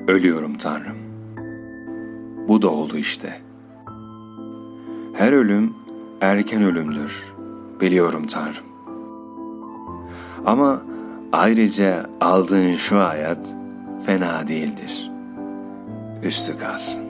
Ölüyorum Tanrım. Bu da oldu işte. Her ölüm erken ölümdür, biliyorum Tanrım. Ama ayrıca aldığın şu hayat fena değildir. Üstü kalsın.